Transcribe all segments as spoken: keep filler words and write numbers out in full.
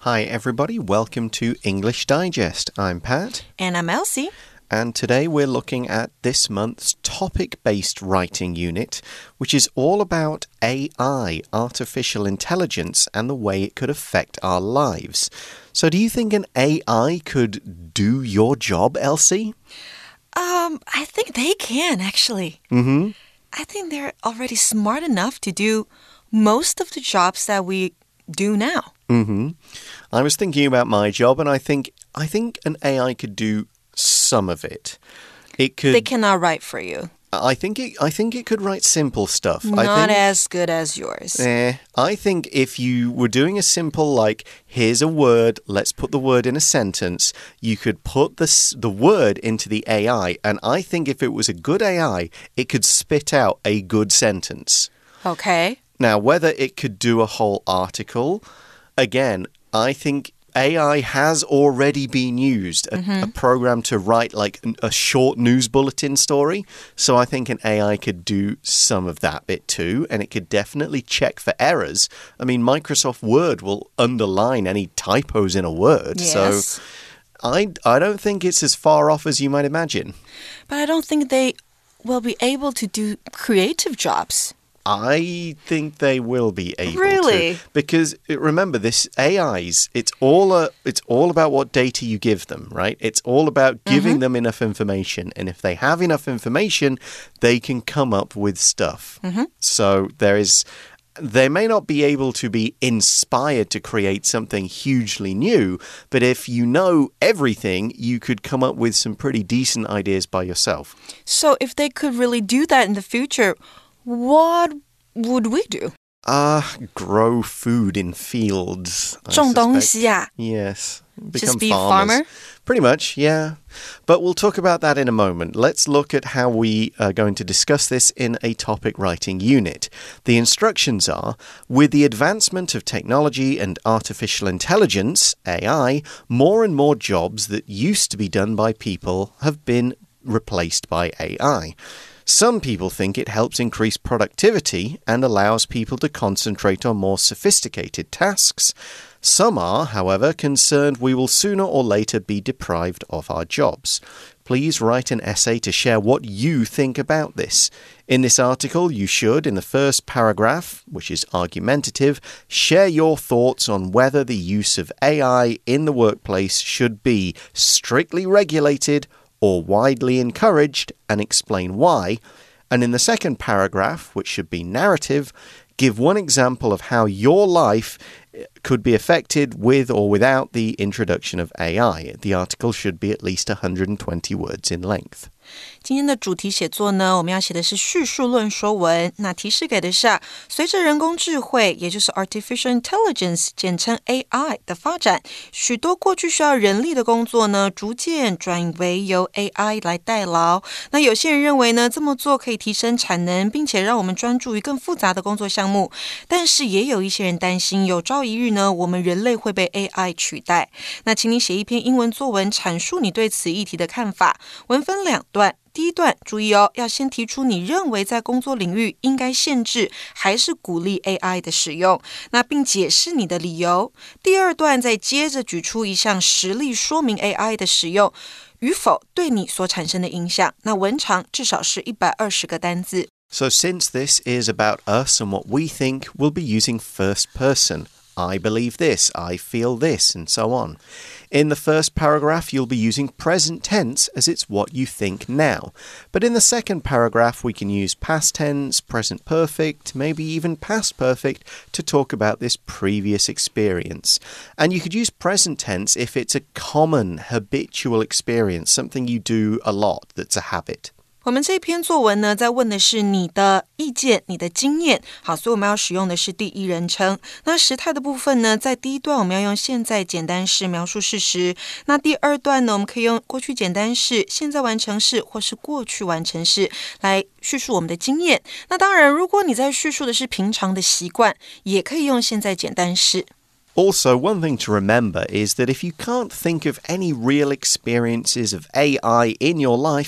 Hi, everybody. Welcome to English Digest. I'm Pat. And I'm Elsie. And today we're looking at this month's topic-based writing unit, which is all about A I, artificial intelligence, and the way it could affect our lives. So do you think an A I could do your job, Elsie? Um, I think they can, actually. Mm-hmm. I think they're already smart enough to do most of the jobs that we do now. Mm-hmm. I was thinking about my job, and I think I think an A I could do some of it. It could. They cannot write for you. I think it. I think it could write simple stuff. Not I think, as good as yours. Eh, I think if you were doing a simple, like, here's a word, let's put the word in a sentence, you could put the the word into the A I, and I think if it was a good A I, it could spit out a good sentence. Okay. Now, whether it could do a whole article, again, I think A I has already been used, a, mm-hmm. a program to write like a short news bulletin story. So I think an A I could do some of that bit too, and it could definitely check for errors. I mean, Microsoft Word will underline any typos in a word. Yes. So I, I don't think it's as far off as you might imagine. But I don't think they will be able to do creative jobs. I think they will be able really? to. Because remember, this A Is, it's all a, it's all about what data you give them, right? It's all about giving mm-hmm. them enough information. And if they have enough information, they can come up with stuff. Mm-hmm. So there is... They may not be able to be inspired to create something hugely new, but if you know everything, you could come up with some pretty decent ideas by yourself. So if they could really do that in the future, what would we do? Ah, uh, grow food in fields. 种东西啊? Yes. Become Just be farmers. a farmer? Pretty much, yeah. But we'll talk about that in a moment. Let's look at how we are going to discuss this in a topic writing unit. The instructions are, with the advancement of technology and artificial intelligence, A I, more and more jobs that used to be done by people have been replaced by A I. Some people think it helps increase productivity and allows people to concentrate on more sophisticated tasks. Some are, however, concerned we will sooner or later be deprived of our jobs. Please write an essay to share what you think about this. In this article, you should, in the first paragraph, which is argumentative, share your thoughts on whether the use of A I in the workplace should be strictly regulated or widely encouraged, and explain why. And in the second paragraph, which should be narrative, give one example of how your life could be affected with or without the introduction of A I. The article should be at least one hundred twenty words in length. 今天的主题写作呢，我们要写的是叙述论说文。那提示給的是啊，隨着人工智慧，也就是 artificial intelligence， 簡稱 A I 的發展，許多過去需要人力的工作呢，逐漸轉為由 A I 來代勞。那有些人認為呢，這麼做可以提升產能，並且讓我們專注於更複雜的工作項目。但是也有一些人擔心，有朝一日呢，我們人類會被 A I 取代。那請你寫一篇英文作文，闡述你對此議題的看法。文分兩段。第一段，注意哦，要先提出你認為在工作領域應該限制還是鼓勵 A I 的使用，那並解釋你的理由。第二段再接着舉出一項實例說明 A I 的使用與否對你所產生的影響。那文長至少是一百二十個單字。 So since this is about us and what we think, we'll be using first person. I believe this, I feel this, and so on. In the first paragraph, you'll be using present tense as it's what you think now. But in the second paragraph, we can use past tense, present perfect, maybe even past perfect to talk about this previous experience. And you could use present tense if it's a common, habitual experience, something you do a lot that's a habit. 我們這篇作文呢，在問的是你的意見、你的經驗。好，所以我們要使用的是第一人稱。那時態的部分呢，在第一段我們要用現在簡單式描述事實。那第二段呢，我們可以用過去簡單式、現在完成式或是過去完成式來敘述我們的經驗。那當然，如果你在敘述的是平常的習慣，也可以用現在簡單式。 Also, one thing to remember is that if you can't think of any real experiences of A I in your life,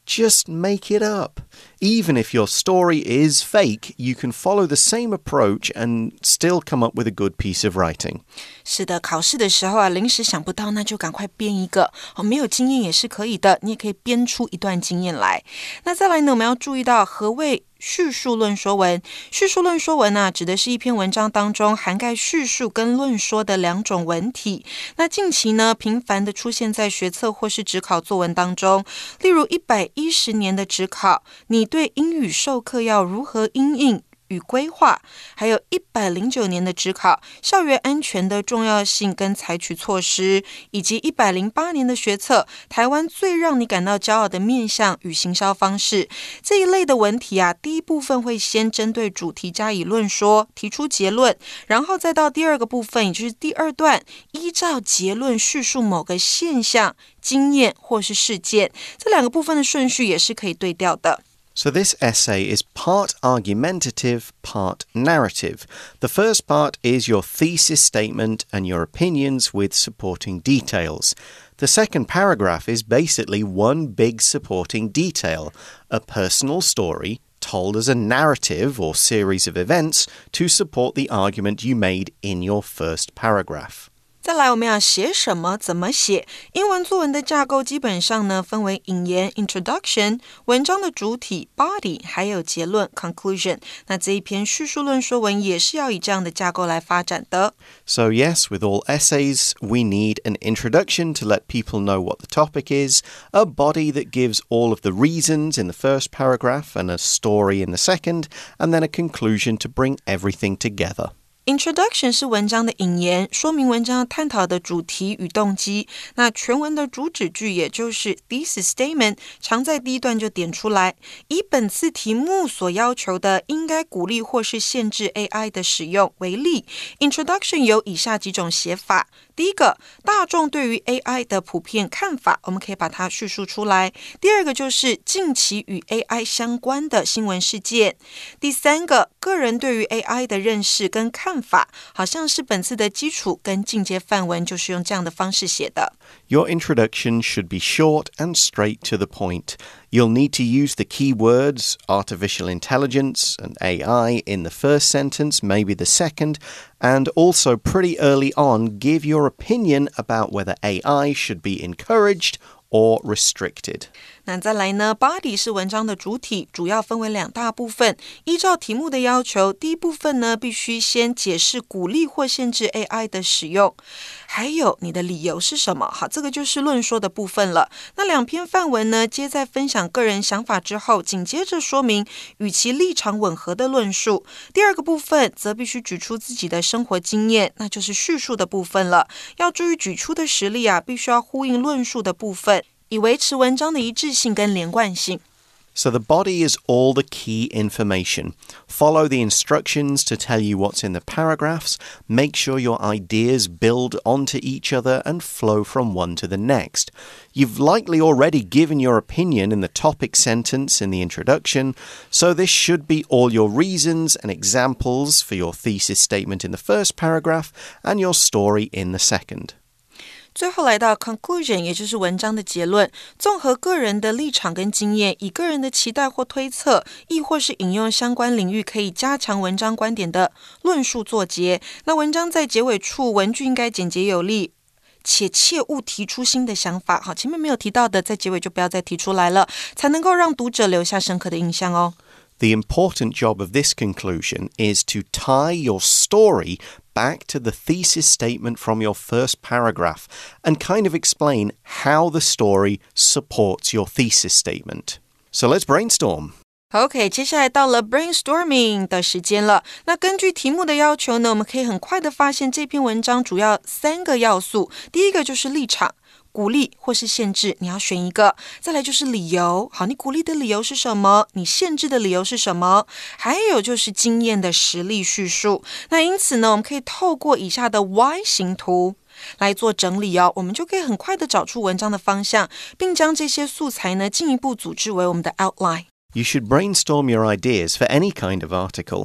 Just make it up. Even if your story is fake, you can follow the same approach and still come up with a good piece of writing. 是的，考試的时候啊，臨時想不到，那就趕快編一個。哦，沒有經驗也是可以的，你也可以編出一段經驗來。那再來呢，我們要注意到何謂敘述論說文。敘述論說文啊，指的是一篇文章當中涵蓋敘述跟論說的兩種文體。那近期呢，頻繁的出現在學測或是指考作文當中。例如一百一十年的指考，你對英語授課要如何因應與規劃，還有一百零九年的指考，校園安全的重要性跟採取措施，以及一百零八年的學測，台灣最讓你感到驕傲的面向與行銷方式。這一類的文體啊，第一部分會先針對主題加以論說，提出結論，然後再到第二個部分，也就是第二段，依照結論敘述某個現象、經驗或是事件。這兩個部分的順序也是可以對調的。 So this essay is part argumentative, part narrative. The first part is your thesis statement and your opinions with supporting details. The second paragraph is basically one big supporting detail, a personal story told as a narrative or series of events to support the argument you made in your first paragraph. 再來我們要寫什麼怎麼寫。英文作文的架構基本上呢分為引言 introduction 文章的主體 body 還有結論 conclusion。那這一篇敘述論說文也是要以這樣的架構來發展的。 So yes, with all essays, we need an introduction to let people know what the topic is, a body that gives all of the reasons in the first paragraph and a story in the second, and then a conclusion to bring everything together. Introduction 是文章的引言，說明文章要探討的主題與動機。那全文的主旨句也就是 thesis statement， 常在第一段就點出來。以本次題目所要求的應該鼓勵或是限制 A I 的使用為例， Introduction 有以下幾種寫法。第一個，大眾對於 A I 的普遍看法，我們可以把它敘述出來。第二個就是近期與 A I 相關的新聞事件。第三個，個人對於 A I 的認識跟看法，好像是本次的基礎跟進階範文就是用這樣的方式寫的。 Your introduction should be short and straight to the point. You'll need to use the key words artificial intelligence and A I in the first sentence, maybe the second, and also pretty early on give your opinion about whether A I should be encouraged or restricted. 那再來呢 body 是文章的主體，主要分為兩大部分。依照題目的要求，第一部分呢必須先解釋鼓勵或限制 A I 的使用，還有你的理由是什麼。好，這個就是論說的部分了。那兩篇範文呢，皆在分享個人想法之後，緊接着說明與其立場吻合的論述。第二個部分則必須舉出自己的生活經驗，那就是敘述的部分了。要注意舉出的實例啊，必須要呼應論述的部分，以維持文章的一致性跟連貫性。 So the body is all the key information. Follow the instructions to tell you what's in the paragraphs. Make sure your ideas build onto each other and flow from one to the next. You've likely already given your opinion in the topic sentence in the introduction, so this should be all your reasons and examples for your thesis statement in the first paragraph and your story in the second. 最後來到 conclusion， 也就是文章的結論。綜合個人的立場跟經驗，以個人的期待或推測，亦或是引用相關領域可以加強文章觀點的論述作結。那文章在結尾處，文句應該簡潔有力，且切勿提出新的想法。好，前面沒有提到的，在結尾就不要再提出來了，才能夠讓讀者留下深刻的印象哦。 The important job of this conclusion is to tie your story back to the thesis statement from your first paragraph and kind of explain how the story supports your thesis statement. So let's brainstorm. OK， 接下來到了 brainstorming 的時間了。那根據題目的要求呢，我們可以很快的發現這篇文章主要三個要素。第一個就是立場。鼓勵或是限制，你要選一個。再來就是理由，好，你鼓勵的理由是什麼？你限制的理由是什麼？還有就是經驗的實例敘述。那因此呢，我們可以透過以下的 Y 型圖來做整理哦，我們就可以很快的找出文章的方向，並將這些素材呢進一步組織為我們的 outline。 You should brainstorm your ideas for any kind of article.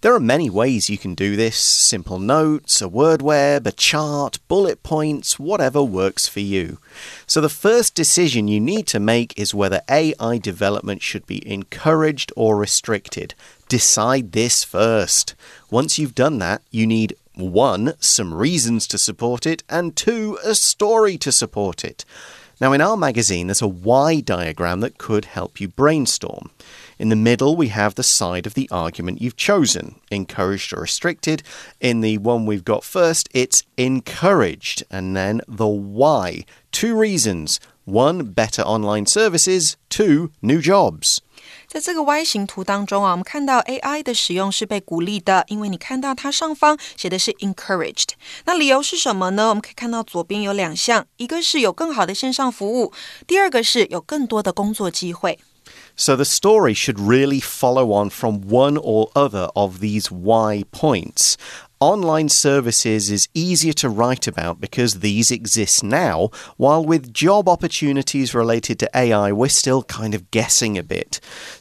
There are many ways you can do this. Simple notes, a word web, a chart, bullet points, whatever works for you. So the first decision you need to make is whether A I development should be encouraged or restricted. Decide this first. Once you've done that, you need one, some reasons to support it, and two, a story to support it. Now, in our magazine, there's a why diagram that could help you brainstorm. In the middle, we have the side of the argument you've chosen, encouraged or restricted. In the one we've got first, it's encouraged, and then the why. Two reasons. One, better online services. Two, new jobs. 在这个 Y 型图当中啊，我们看到 A I 的使用是被鼓勵的，因為你看到它上方寫的是 encouraged。那理由是什麼呢？我們可以看到左邊有兩項，一個是有更好的線上服務，第二個是有更多的工作機會。 So the story should really follow on from one or other of these why points. Online services is easier to write about because these exist now, while with job opportunities related to A I, we're still kind of guessing a bit.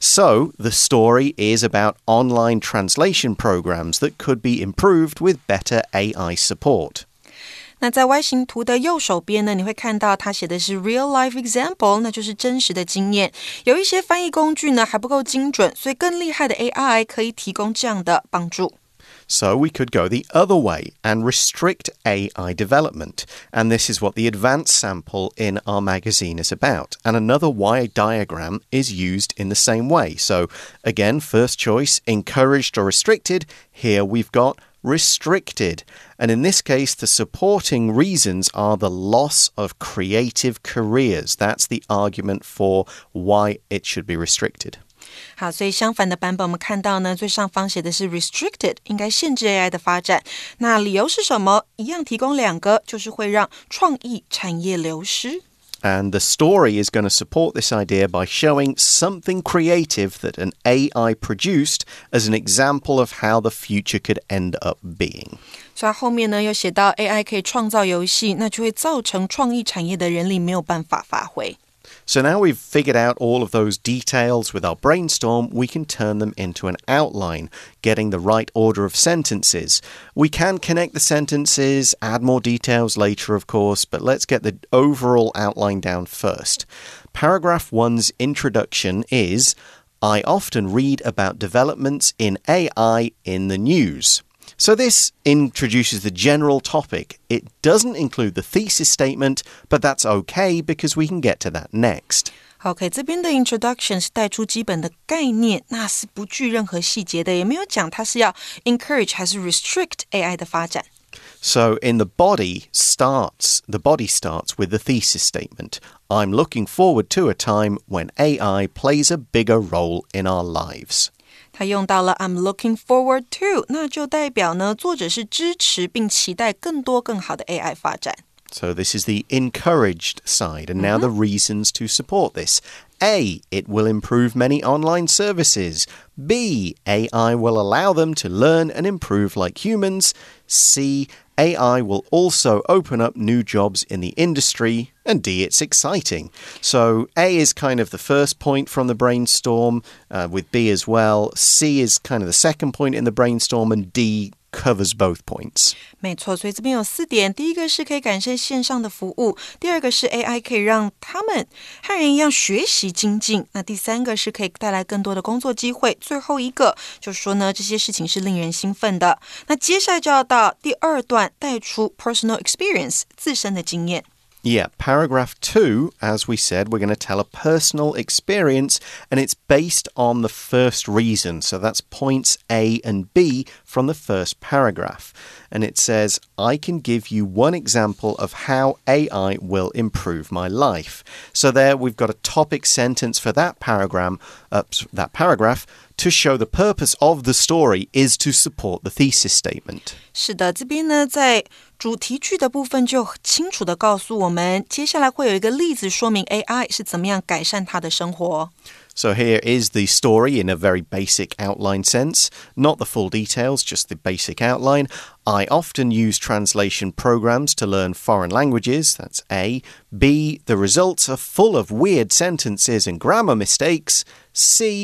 So the story is about online translation programs that could be improved with better A I support. 那在 Y 型图的右手邊呢，你會看到它寫的是 real life example， 那就是真實的經驗。有一些翻譯工具呢還不夠精準，所以更厲害的 A I 可以提供這樣的幫助。 So we could go the other way and restrict A I development. And this is what the advanced sample in our magazine is about. And another Y diagram is used in the same way. So again, first choice, encouraged or restricted. Here we've got restricted. And in this case, the supporting reasons are the loss of creative careers. That's the argument for why it should be restricted. 好，所以相反的版本我們看到呢，最上方寫的是 restricted， 應該限制 A I 的發展。那理由是什麼？一樣提供兩個，就是會讓創意產業流失。 And the story is going to support this idea by showing something creative that an A I produced as an example of how the future could end up being. 所以後面呢又寫到 A I 可以創造遊戲，那就會造成創意產業的人力沒有辦法發揮。 So now we've figured out all of those details with our brainstorm, we can turn them into an outline, getting the right order of sentences. We can connect the sentences, add more details later, of course, but let's get the overall outline down first. Paragraph one's introduction is, I often read about developments in A I in the news. So this introduces the general topic. It doesn't include the thesis statement, but that's okay because we can get to that next. OK， 這邊的 introduction 是帶出基本的概念，那是不具任何細節的，也沒有講它是要 encourage 還是 restrict A I 的發展。 So in the body starts, the body starts with the thesis statement. I'm looking forward to a time when A I plays a bigger role in our lives. 他用到了 I'm looking forward to， 那就代表呢，作者是支持並期待更多更好的 A I 發展。 So this is the encouraged side, and now the reasons to support this. A, it will improve many online services. B, A I will allow them to learn and improve like humans. C, A I will also open up new jobs in the industry. And D, it's exciting. So A is kind of the first point from the brainstorm, uh, with B as well. C is kind of the second point in the brainstorm, and D covers both points. 沒錯，所以這邊有四點。第一個是可以感謝線上的服務，第二個是 A I 可以讓他們和人一樣學習精進，那第三個是可以帶來更多的工作機會，最後一個就是說呢，這些事情是令人興奮的。那接下來就要到第二段，帶出 personal experience 自身的經驗。 Yeah, paragraph two, as we said, we're going to tell a personal experience, and it's based on the first reason. So that's points A and B from the first paragraph. And it says, I can give you one example of how A I will improve my life. So there we've got a topic sentence for that paragraph, uh, that paragraph to show the purpose of the story is to support the thesis statement. 是的，这邊呢，在主題句的部分就清楚地告訴我們，接下來會有一個例子說明 A I 是怎麼樣改善他的生活。 So here is the story in a very basic outline sense. Not the full details, just the basic outline. I often use translation programs to learn foreign languages. That's A. B. The results are full of weird sentences and grammar mistakes. C.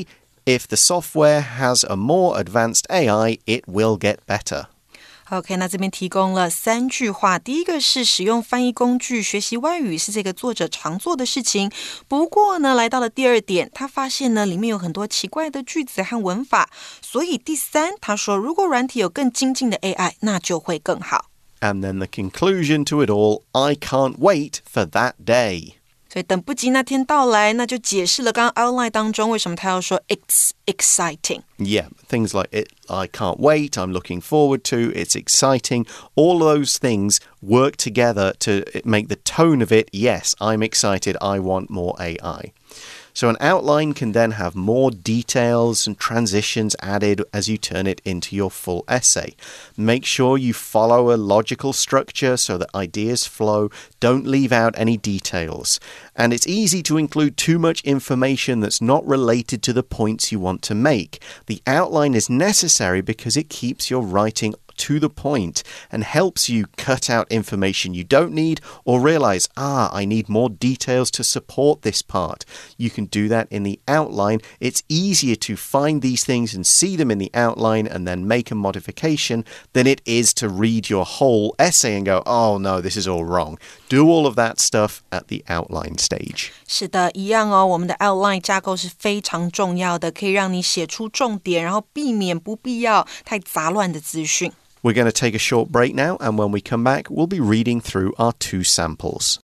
If the software has a more advanced A I, it will get better. OK, 那這邊提供了三句話。第一個是使用翻譯工具學習外語是這個作者常做的事情。不過呢，來到了第二點，他發現呢裡面有很多奇怪的句子和文法。所以第三，他說如果軟體有更精進的 A I， 那就會更好。 And then the conclusion to it all, I can't wait for that day. 所以等不及那天到來，那就解釋了剛剛 outline 當中為什麼他要說 it's exciting. Yeah, things like it, I can't wait, I'm looking forward to, it's exciting. All those things work together to make the tone of it, yes, I'm excited, I want more A I. So an outline can then have more details and transitions added as you turn it into your full essay. Make sure you follow a logical structure so that ideas flow. Don't leave out any details. And it's easy to include too much information that's not related to the points you want to make. The outline is necessary because it keeps your writing to the point and helps you cut out information you don't need or realize, ah, I need more details to support this part. You can do that in the outline. It's easier to find these things and see them in the outline and then make a modification than it is to read your whole essay and go, oh no, this is all wrong. Do all of that stuff at the outline stage. 是的，一樣哦，我們的 outline 架構是非常重要的，可以讓你寫出重點，然後避免不必要太雜亂的資訊。 We're going to take a short break now, and when we come back, we'll be reading through our two samples.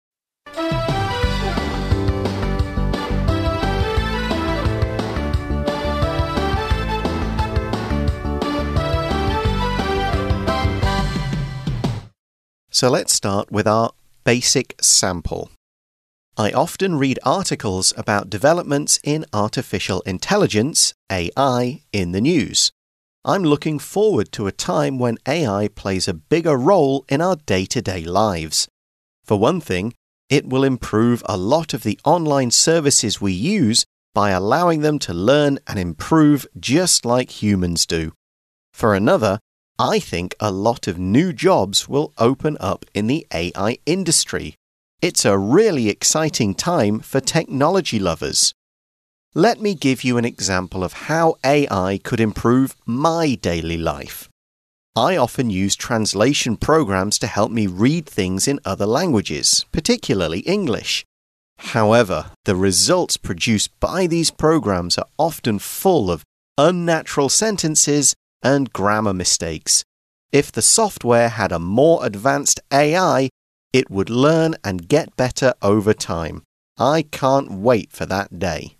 So let's start with our basic sample. I often read articles about developments in artificial intelligence, A I, in the news. I'm looking forward to a time when A I plays a bigger role in our day-to-day lives. For one thing, it will improve a lot of the online services we use by allowing them to learn and improve just like humans do. For another, I think a lot of new jobs will open up in the A I industry. It's a really exciting time for technology lovers. Let me give you an example of how A I could improve my daily life. I often use translation programs to help me read things in other languages, particularly English. However, the results produced by these programs are often full of unnatural sentences and grammar mistakes. If the software had a more advanced A I, it would learn and get better over time. I can't wait for that day.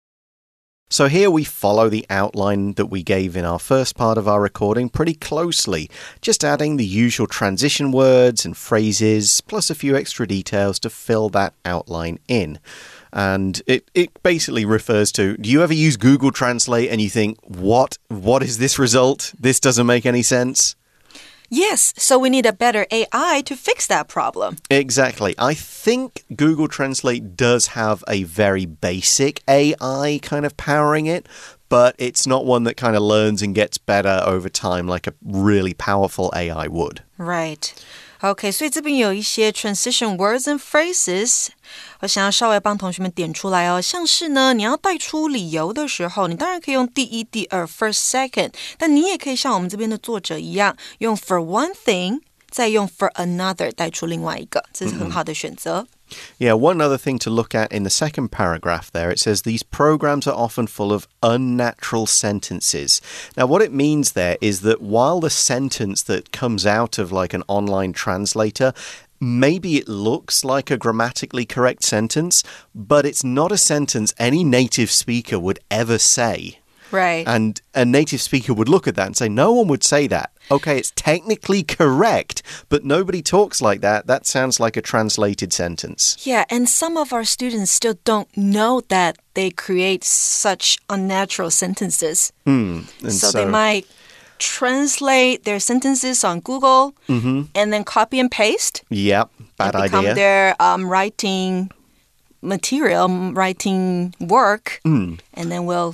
So here we follow the outline that we gave in our first part of our recording pretty closely, just adding the usual transition words and phrases, plus a few extra details to fill that outline in. And it, it basically refers to, do you ever use Google Translate and you think, what? What is this result? This doesn't make any sense? Yes, so we need a better A I to fix that problem. Exactly. I think Google Translate does have a very basic A I kind of powering it, but it's not one that kind of learns and gets better over time like a really powerful A I would. Right. OK, 所以這邊有一些 transition words and phrases 我想要稍微幫同學們點出來哦，像是呢你要帶出理由的時候，你當然可以用第一、第二 first, second 但你也可以像我們這邊的作者一樣用 for one thing 再用 for another 帶出另外一個，這是很好的選擇。 Yeah, one other thing to look at in the second paragraph there, it says these programs are often full of unnatural sentences. Now, what it means there is that while the sentence that comes out of like an online translator, maybe it looks like a grammatically correct sentence, but it's not a sentence any native speaker would ever say. Right. And a native speaker would look at that and say, no one would say that. Okay, it's technically correct, but nobody talks like that. That sounds like a translated sentence. Yeah, and some of our students still don't know that they create such unnatural sentences. Mm, and so, so they might translate their sentences on Google mm-hmm. and then copy and paste. Yep, bad and become idea. Become their um, writing material, writing work, mm. and then we'll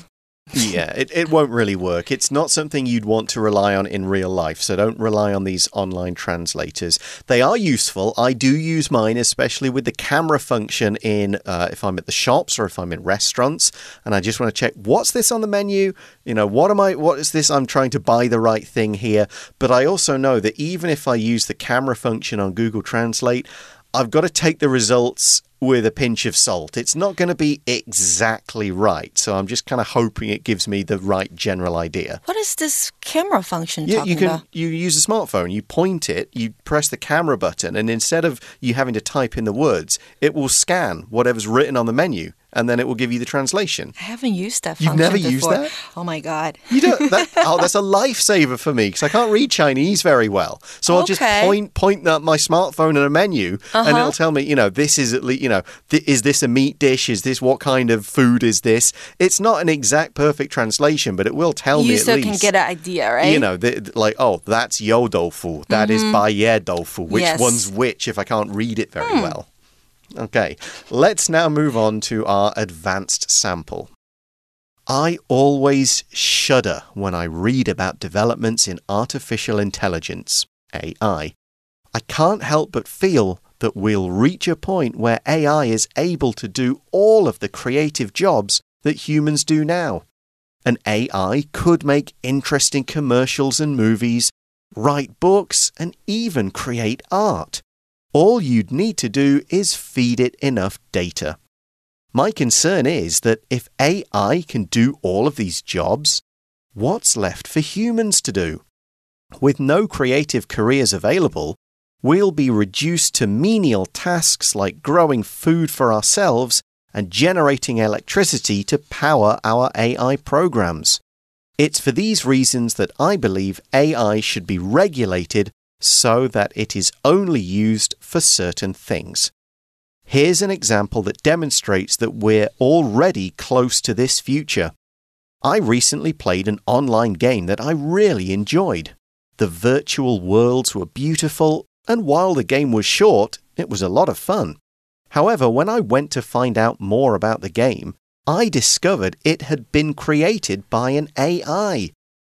Yeah, it, it won't really work. It's not something you'd want to rely on in real life, so don't rely on these online translators. They are useful. I do use mine, especially with the camera function in uh, if I'm at the shops or if I'm in restaurants, and I just want to check, what's this on the menu? You know, what am I, what is this? I'm trying to buy the right thing here. But I also know that even if I use the camera function on Google Translate, I've got to take the results with a pinch of salt. It's not going to be exactly right. So I'm just kind of hoping it gives me the right general idea. What is this camera function you, talking you can, about? You use a smartphone, you point it, you press the camera button, and instead of you having to type in the words, it will scan whatever's written on the menu, and then it will give you the translation. I haven't used that function You've never before. used that? Oh my God. You don't, that, oh, that's a lifesaver for me because I can't read Chinese very well. So I'll okay. just point point at my smartphone at a menu uh-huh. and it'll tell me, you know, this is at least, you know, th is this a meat dish? Is this, what kind of food is this? It's not an exact perfect translation, but it will tell you me at still least. You still can get an idea, right? You know, the, like, oh, that's you doufu. That mm-hmm. is Baiye doufu. Which yes. one's which if I can't read it very hmm. well? Okay, let's now move on to our advanced sample. I always shudder when I read about developments in artificial intelligence, A I. I can't help but feel that we'll reach a point where A I is able to do all of the creative jobs that humans do now. An A I could make interesting commercials and movies, write books, and even create art. All you'd need to do is feed it enough data. My concern is that if A I can do all of these jobs, what's left for humans to do? With no creative careers available, we'll be reduced to menial tasks like growing food for ourselves and generating electricity to power our A I programs. It's for these reasons that I believe A I should be regulated so that it is only used for certain things. Here's an example that demonstrates that we're already close to this future. I recently played an online game that I really enjoyed. The virtual worlds were beautiful, and while the game was short, it was a lot of fun. However, when I went to find out more about the game, I discovered it had been created by an A I.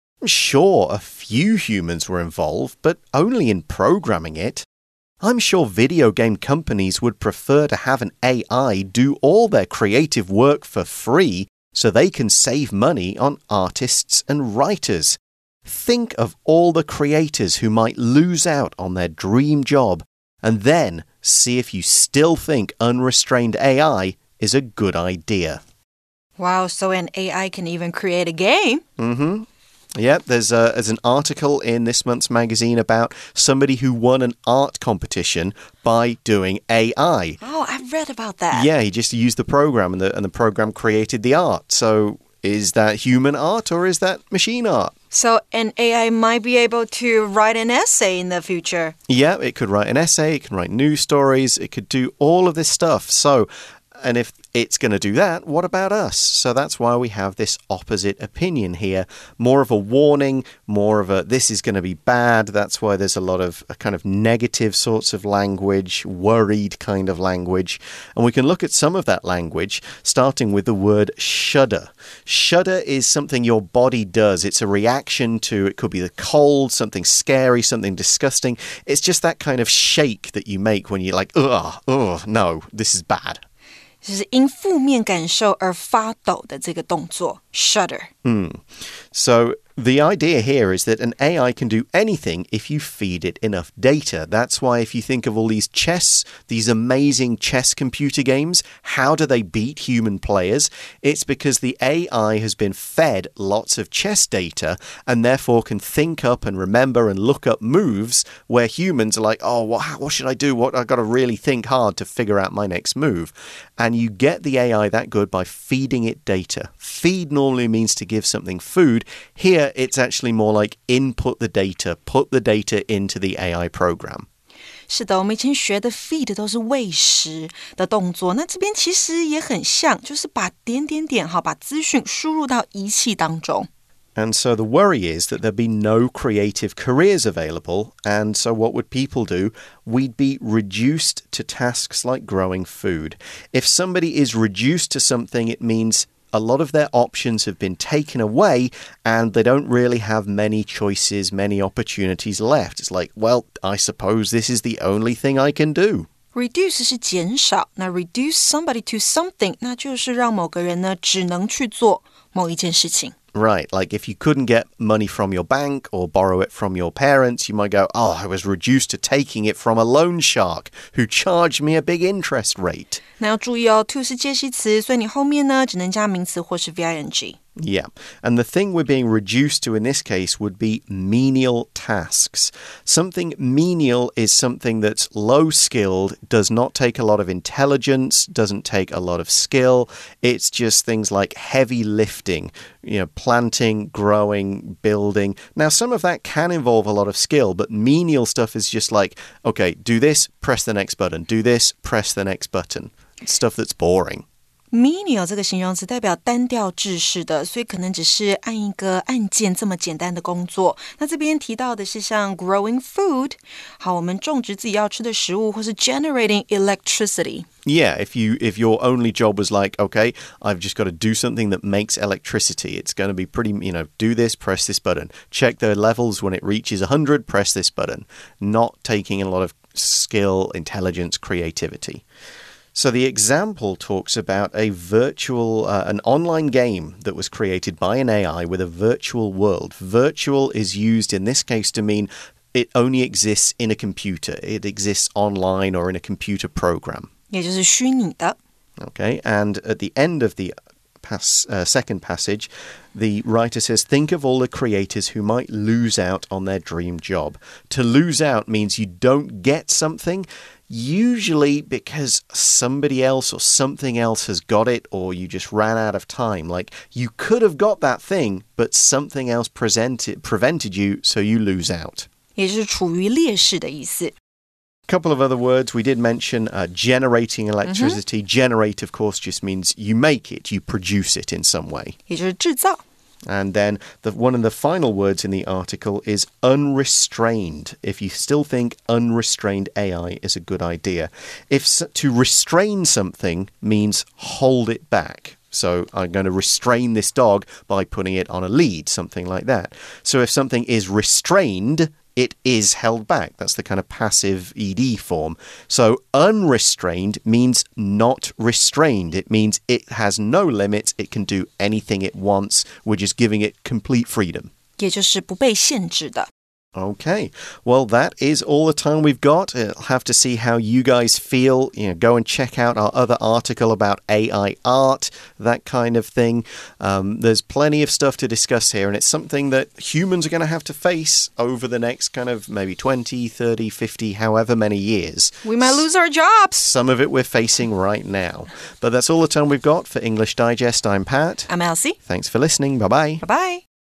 Sure, a few humans were involved, but only in programming it. I'm sure video game companies would prefer to have an A I do all their creative work for free so they can save money on artists and writers. Think of all the creators who might lose out on their dream job, and then see if you still think unrestrained A I is a good idea. Wow, so an A I can even create a game? Mm-hmm. Yeah, there's, a, there's an article in this month's magazine about somebody who won an art competition by doing A I. Oh, I've read about that. Yeah, he just used the program and the, and the program created the art. So is that human art or is that machine art? So an A I might be able to write an essay in the future. Yeah, it could write an essay, it can write news stories, it could do all of this stuff. So, and if it's going to do that, what about us? So that's why we have this opposite opinion here. More of a warning, more of a this is going to be bad. That's why there's a lot of a kind of negative sorts of language, worried kind of language. And we can look at some of that language, starting with the word shudder. Shudder is something your body does. It's a reaction to, it could be the cold, something scary, something disgusting. It's just that kind of shake that you make when you're like, ugh, ugh, no, this is bad. 就是因负面感受而发抖的这个动作 shudder. Hmm. So the idea here is that an A I can do anything if you feed it enough data. That's why if you think of all these chess, these amazing chess computer games, how do they beat human players? It's because the A I has been fed lots of chess data and therefore can think up and remember and look up moves where humans are like, oh, what, what should I do? What I've got to really think hard to figure out my next move. And you get the A I that good by feeding it data. Feed normally means to give something food. Here, it's actually more like input the data, put the data into the A I program. 是的，我们以前学的 feed 都是餵食的动作，那這邊其實也很像，就是把點點點，好，把資訊輸入到儀器當中。 And so the worry is that there'd be no creative careers available. And so what would people do? We'd be reduced to tasks like growing food. If somebody is reduced to something, it means a lot of their options have been taken away and they don't really have many choices, many opportunities left. It's like, well, I suppose this is the only thing I can do. Reduce 是减少，那 reduce somebody to something 那就是让某个人呢只能去做某一件事情。 Right, like if you couldn't get money from your bank or borrow it from your parents, you might go, oh, I was reduced to taking it from a loan shark who charged me a big interest rate. 那要注意哦 to 是介系詞，所以你後面呢只能加名詞或是 V I N G。 Yeah, and the thing we're being reduced to in this case would be menial tasks. Something menial is something that's low-skilled, does not take a lot of intelligence, doesn't take a lot of skill. It's just things like heavy lifting, you know, planting, growing, building. Now, some of that can involve a lot of skill, but menial stuff is just like, okay, do this, press the next button. Do this, press the next button. It's stuff that's boring. Menial 这個形容詞代表單調制式的，所以可能只是按一個按鍵這麼簡單的工作。那這邊提到的是像 growing food， 好，我們種植自己要吃的食物，或是 generating electricity. Yeah, if you if your only job was like, okay, I've just got to do something that makes electricity. It's going to be pretty, you know, do this, press this button. Check the levels when it reaches one hundred, press this button. Not taking a lot of skill, intelligence, creativity. So the example talks about a virtual, uh, an online game that was created by an A I with a virtual world. Virtual is used in this case to mean it only exists in a computer. It exists online or in a computer program. 也就是虚擬的。 Okay, and at the end of the pass, uh, second passage, the writer says, think of all the creators who might lose out on their dream job. To lose out means you don't get something, usually because somebody else or something else has got it, or you just ran out of time. Like, you could have got that thing, but something else presented, prevented you, so you lose out. 也就是處於劣勢的意思。 Couple of other words. We did mention uh, generating electricity. Mm-hmm. Generate, of course, just means you make it, you produce it in some way. 也就是制造。 And then the, one of the final words in the article is unrestrained. If you still think unrestrained A I is a good idea. If to restrain something means hold it back. So I'm going to restrain this dog by putting it on a lead, something like that. So if something is restrained, it is held back. That's the kind of passive E D form. So unrestrained means not restrained. It means it has no limits. It can do anything it wants. We're just giving it complete freedom. 也就是不被限制的。 Okay, well, that is all the time we've got. I'll have to see how you guys feel. You know, go and check out our other article about A I art, that kind of thing. Um, there's plenty of stuff to discuss here, and it's something that humans are going to have to face over the next kind of maybe twenty, thirty, fifty, however many years. We might lose our jobs. Some of it we're facing right now. But that's all the time we've got for English Digest. I'm Pat. I'm Elsie. Thanks for listening. Bye-bye. Bye-bye.